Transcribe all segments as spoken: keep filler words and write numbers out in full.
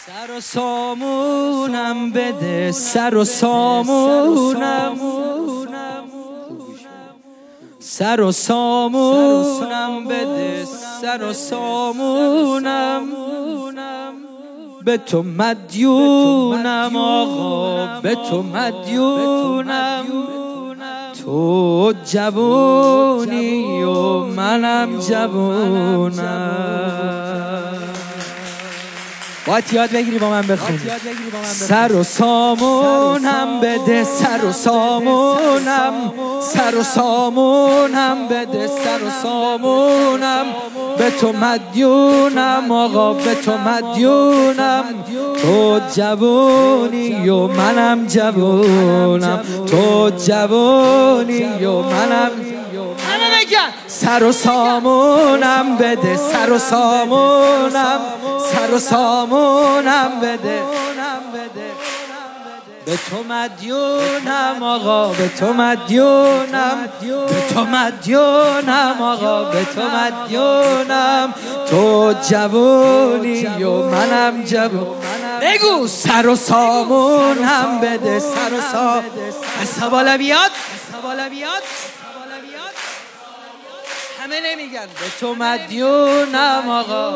سر و سامونم بده، سر و سامونم، سر و سامونم بده، سر و سامونم، به تو مدیونم آقا، به تو مدیونم. تو جوونی و منم جوونم. باید یاد بگیری با من بخونی. سر و سامونم بده، سر و سامونم، سر و سامونم بده، سر و سامونم، به تو مدیونم آقا، به تو مدیونم. تو جوونی و منم جوونم، تو جوونی و منم. همه بگن سر و سامونم بده، سر و سامونم، سر و سامونم بده، به تو مدیونم آقا، به تو مدیونم، به تو مدیونم آقا، به تو مدیونم. تو جوونی و منم جوون. بگو سر و سامونم بده، سر و سامونم. حساب بالا بیاد، حساب بالا بیاد، همه نمیگن به تو مدیونم آقا.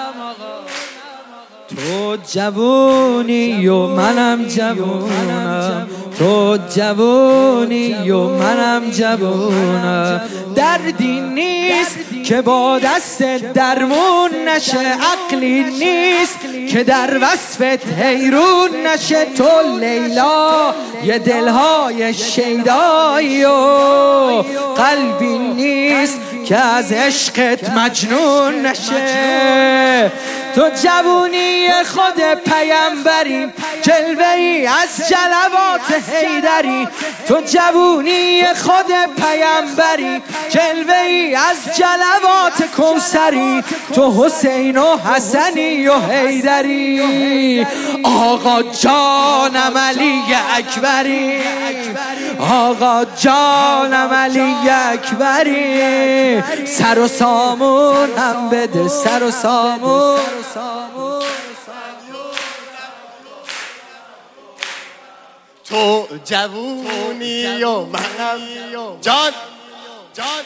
تو جوونی و منم جوونم، تو جوونی و منم جوونم. دردی نیست که با دست درمون نشه، عقلی نیست که در وصفت حیرون نشه. تو لیلا یه دلهای شیدایی و قلبی نیست که از عشقت مجنون نشه. تو جوونی خود پیمبری، جلوه‌ای از جلوات حیدری. تو جوونی خود پیمبری، جلوه‌ای از جلوات کوثری. تو حسین و حسنی و حیدری. آقا جانم علی اکبری، آقا جانم علی اکبری. سر و سامونم بده، سر و سامون. تو جوونی و منم جان جان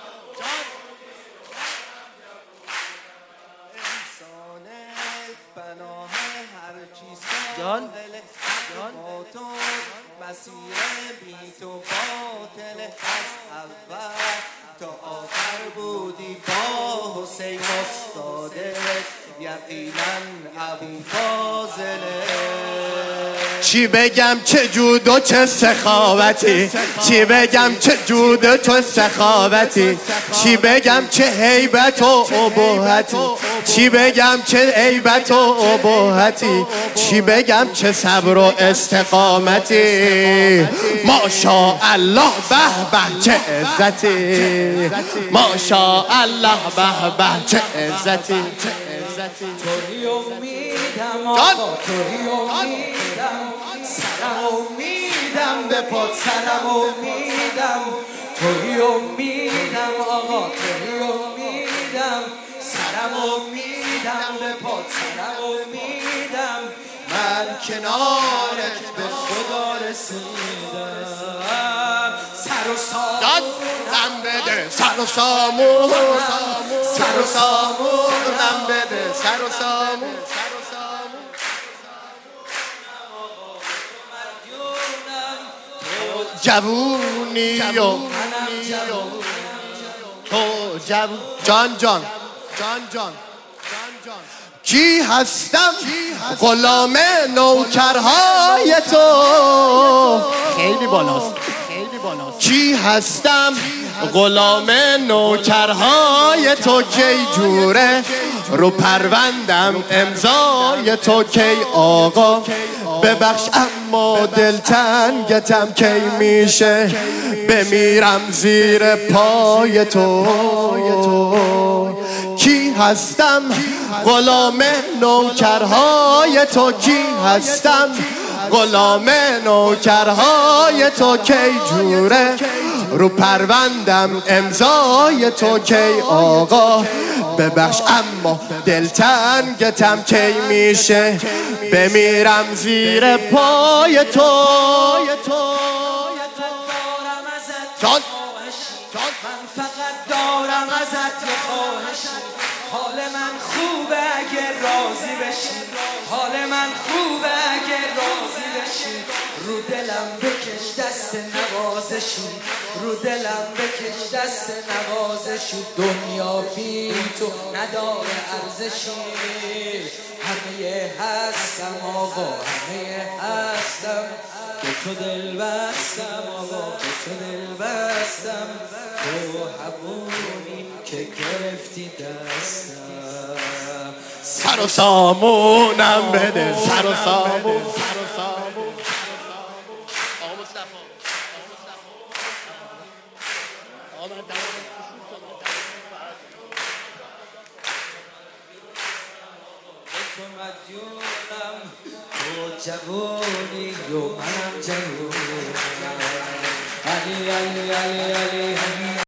جان تو مسیر بی تو باطل از اول تا آخر بودی با حسین استاده، یقینا ابو فاضله. چی بگم چه جود و چه سخاوتی، چی بگم چه جود و چه سخاوتی، چی بگم چه هیبت و ابهتی، چی بگم چه هیبت و ابهتی، چی بگم چه صبر و استقامتی. ماشاءالله به به چه عزتی، ماشاءالله به به چه عزتی. توی امیدم آقا، توی امیدم، سرم امیدم به پاد، سرم امیدم. توی امیدم آقا، توی امیدم، سرم امیدم به پاد، سرم امیدم. من کنارت به خدا رسیدم. سر و سامونم بده، سر و سامونم، سر و سامونم بده، سر و سامون. جوونی و تو جوون. جان جان جان جان کی هستم غلام نوکرهای تو. خیلی بالاست، خیلی بالاست. کی هستم غلام نوکرهای تو، کی جوره رو پروندم امضای تو، کی آقا ببخش اما دلتنگتم، کی میشه بمیرم زیر پای تو. کی هستم غلام نوکرهای تو، کی هستم غلام نوکرهای تو، کی جوره رو پروندم امضای تو کی آقا ببخش اما دلتنگتم کی میشه بمیرم زیر پای تو جان من فقط دارم ازت یه خواهشی حال من خوبه اگه راضی بشی حال من خوبه اگه راضی بشی رو دلم بکش دست نوازشی رو دلم بکش دست نوازشی دنیا بی تو نداره ارزشی همه هستم آقا همه هستم به تو دل بستم آقا به تو دل بستم تو همونی که گرفتی دستم سر و سامونم بده سر و سامون تو مدیونم تو جوونی و منم جوونم علی علی علی علی